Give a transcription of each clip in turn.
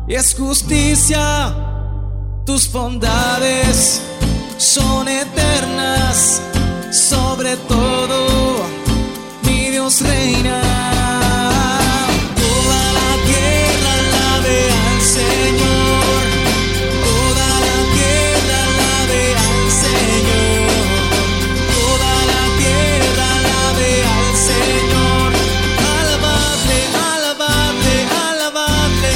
y es justicia. Tus bondades son eternas, sobre todo mi Dios reina. Toda la tierra alabe al Señor, toda la tierra alabe al Señor, toda la tierra alabe al Señor. Alabadle, alabadle, alabadle.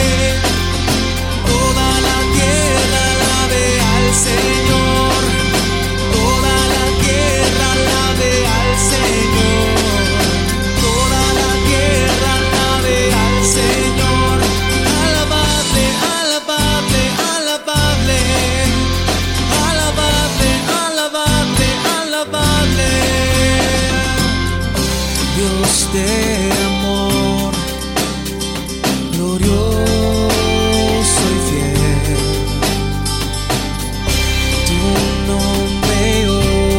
Toda la tierra alabe al Señor, toda la tierra alabe al Señor, toda la tierra alabe al Señor. Alabadle, alabadle, alabadle, alabadle, alabadle, alabadle. Dios de amor, glorioso y fiel, tu nombre yo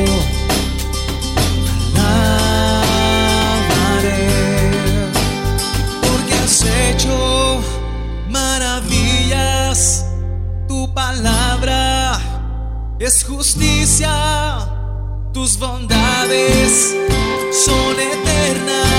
alabaré, porque has hecho maravillas. Tu palabra es justicia, tus bondades son eternas.